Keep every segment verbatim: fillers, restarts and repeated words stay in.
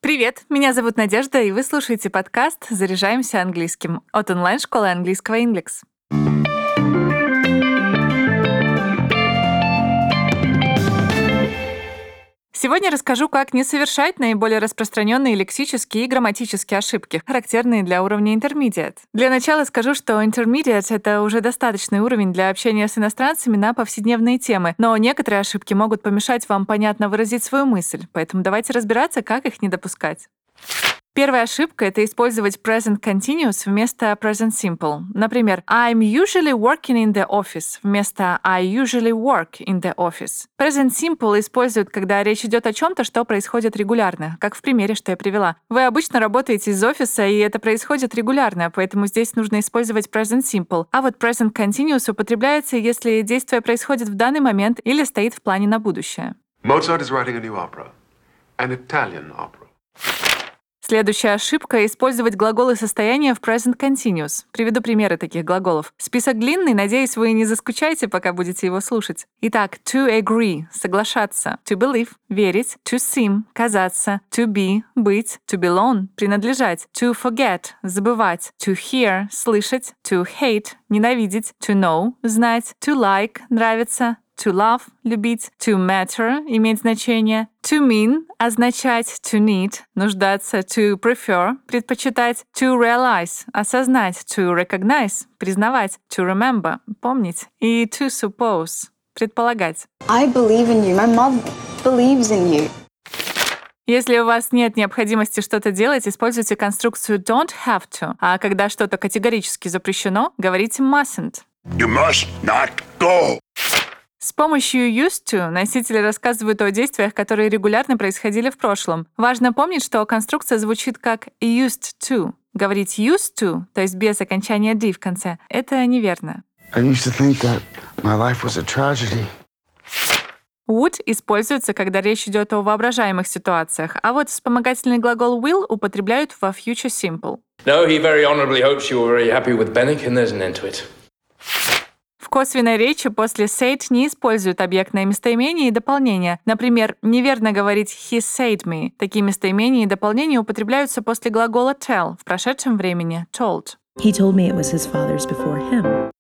Привет, меня зовут Надежда, и вы слушаете подкаст «Заряжаемся английским» от онлайн-школы английского Inglix. Сегодня расскажу, как не совершать наиболее распространенные лексические и грамматические ошибки, характерные для уровня Intermediate. Для начала скажу, что Intermediate — это уже достаточный уровень для общения с иностранцами на повседневные темы, но некоторые ошибки могут помешать вам понятно выразить свою мысль, поэтому давайте разбираться, как их не допускать. Первая ошибка — это использовать present continuous вместо present simple. Например, I'm usually working in the office вместо I usually work in the office. Present simple используют, когда речь идет о чем-то, что происходит регулярно, как в примере, что я привела. Вы обычно работаете из офиса, и это происходит регулярно, поэтому здесь нужно использовать present simple. А вот present continuous употребляется, если действие происходит в данный момент или стоит в плане на будущее. Mozart is writing a new opera, an Italian opera. Следующая ошибка — использовать глаголы состояния в present continuous. Приведу примеры таких глаголов. Список длинный, надеюсь, вы не заскучаете, пока будете его слушать. Итак, to agree — соглашаться, to believe — верить, to seem — казаться, to be — быть, to belong — принадлежать, to forget — забывать, to hear — слышать, to hate — ненавидеть, to know — знать, to like — нравиться, to love — любить, to matter — иметь значение, to mean — означать, to need — нуждаться, to prefer — предпочитать, to realize — осознать, to recognize — признавать, to remember — помнить и to suppose — предполагать. I believe in you. My mom believes in you. Если у вас нет необходимости что-то делать, используйте конструкцию don't have to, а когда что-то категорически запрещено, говорите mustn't. You must not go. С помощью used to носители рассказывают о действиях, которые регулярно происходили в прошлом. Важно помнить, что конструкция звучит как used to. Говорить used to, то есть без окончания d в конце, это неверно. I used to think that my life was a tragedy. Would используется, когда речь идет о воображаемых ситуациях, а вот вспомогательный глагол will употребляют во future simple. No, he very honorably hopes you were very happy with Bennick, and there's an end to it. В косвенной речи после said не используют объектное местоимение и дополнение. Например, неверно говорить he said me. Такие местоимения и дополнения употребляются после глагола tell в прошедшем времени told. He told me it was his father's before him.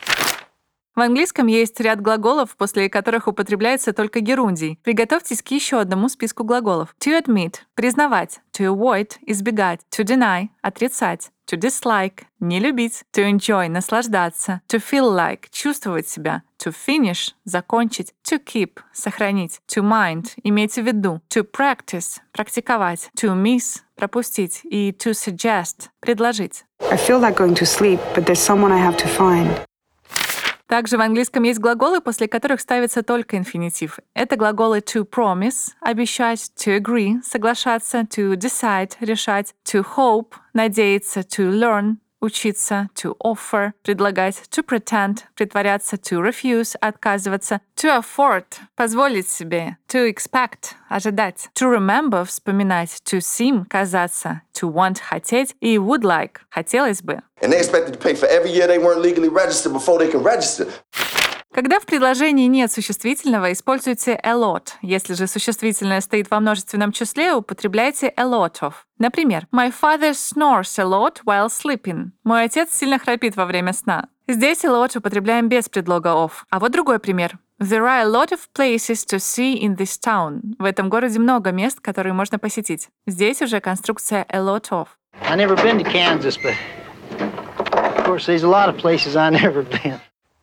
В английском есть ряд глаголов, после которых употребляется только герундий. Приготовьтесь к еще одному списку глаголов. To admit — признавать, to avoid — избегать, to deny — отрицать, to dislike — не любить, to enjoy — наслаждаться, to feel like — чувствовать себя, to finish — закончить, to keep — сохранить, to mind — иметь в виду, to practice — практиковать, to miss — пропустить и to suggest — предложить. I feel like going to sleep, but there's someone I have to find. Также в английском есть глаголы, после которых ставится только инфинитив. Это глаголы to promise — обещать, to agree — соглашаться, to decide — решать, to hope — надеяться, to learn — учиться, to offer — предлагать, to pretend — притворяться, to refuse — отказываться, to afford — позволить себе, to expect — ожидать, to remember — вспоминать, to seem — казаться, to want — хотеть и would like — хотелось бы. And they expected to pay for every year they weren't legally registered before they can register. Когда в предложении нет существительного, используйте a lot. Если же существительное стоит во множественном числе, употребляйте a lot of. Например, My father snores a lot while sleeping. Мой отец сильно храпит во время сна. Здесь a lot употребляем без предлога of. А вот другой пример. There are a lot of places to see in this town. В этом городе много мест, которые можно посетить. Здесь уже конструкция a lot of. I never been to Kansas, but of course there's a lot of places I never been.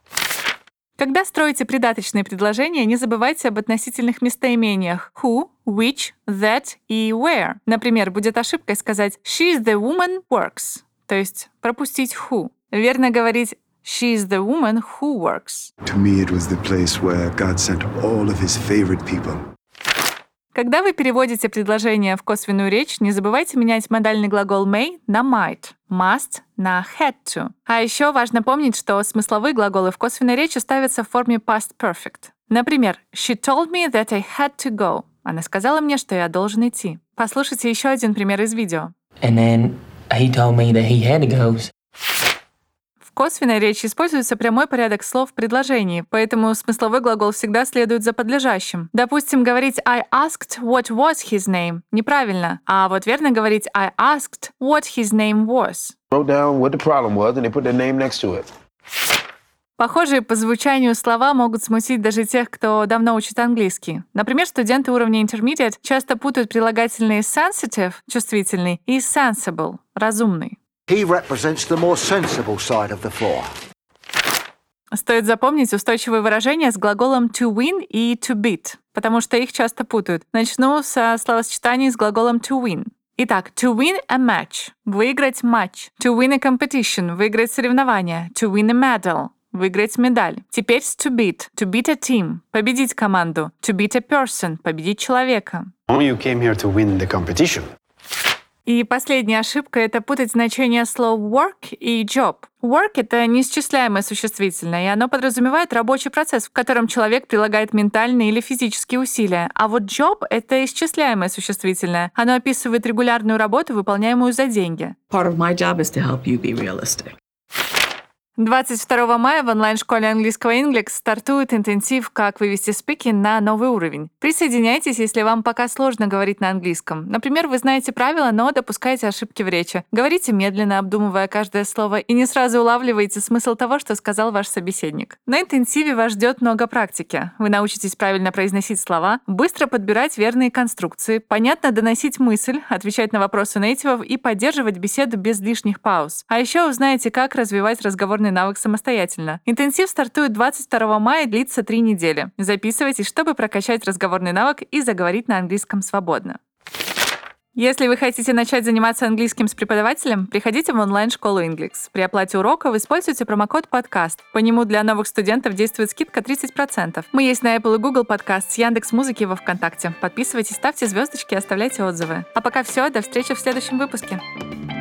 Когда строите придаточные предложения, не забывайте об относительных местоимениях who, which, that и where. Например, будет ошибкой сказать «She is the woman works», то есть пропустить who. Верно говорить «She is the woman who works». To me, it was the place where God sent all of his favorite people. Когда вы переводите предложение в косвенную речь, не забывайте менять модальный глагол may на might, must на had to. А еще важно помнить, что смысловые глаголы в косвенной речи ставятся в форме past perfect. Например, She told me that I had to go. Она сказала мне, что я должен идти. Послушайте еще один пример из видео. And then he told me that he had to go. В косвенной речи используется прямой порядок слов в предложении, поэтому смысловой глагол всегда следует за подлежащим. Допустим, говорить I asked what was his name неправильно, а вот верно говорить I asked what his name was. Wrote down what the problem was, and they put their name next to it. Похожие по звучанию слова могут смутить даже тех, кто давно учит английский. Например, студенты уровня intermediate часто путают прилагательные sensitive — чувствительный и sensible — разумный. He represents the more sensible side of the floor. Стоит запомнить устойчивые выражения с глаголом to win и to beat, потому что их часто путают. Начну со словосочетаний с глаголом to win. Итак, to win a match — выиграть матч. To win a competition — выиграть соревнование. To win a medal — выиграть медаль. Теперь с to beat. To beat a team — победить команду. To beat a person — победить человека. You came here to win the competition. И последняя ошибка — это путать значение слов work и job. Work — это неисчисляемое существительное, и оно подразумевает рабочий процесс, в котором человек прилагает ментальные или физические усилия. А вот job — это исчисляемое существительное. Оно описывает регулярную работу, выполняемую за деньги. Part of my job is to help you be realistic. двадцать второго мая в онлайн-школе английского Inglix стартует интенсив «Как вывести speaking на новый уровень». Присоединяйтесь, если вам пока сложно говорить на английском. Например, вы знаете правила, но допускаете ошибки в речи. Говорите медленно, обдумывая каждое слово, и не сразу улавливаете смысл того, что сказал ваш собеседник. На интенсиве вас ждет много практики. Вы научитесь правильно произносить слова, быстро подбирать верные конструкции, понятно доносить мысль, отвечать на вопросы нейтивов и поддерживать беседу без лишних пауз. А еще узнаете, как развивать разговорный навык самостоятельно. Интенсив стартует двадцать второго мая и длится три недели. Записывайтесь, чтобы прокачать разговорный навык и заговорить на английском свободно. Если вы хотите начать заниматься английским с преподавателем, приходите в онлайн-школу Inglix. При оплате уроков используйте промокод «Подкаст». По нему для новых студентов действует скидка тридцать процентов. Мы есть на Apple и Google Podcast, с Яндекс.Музыки и во ВКонтакте. Подписывайтесь, ставьте звездочки и оставляйте отзывы. А пока все, до встречи в следующем выпуске.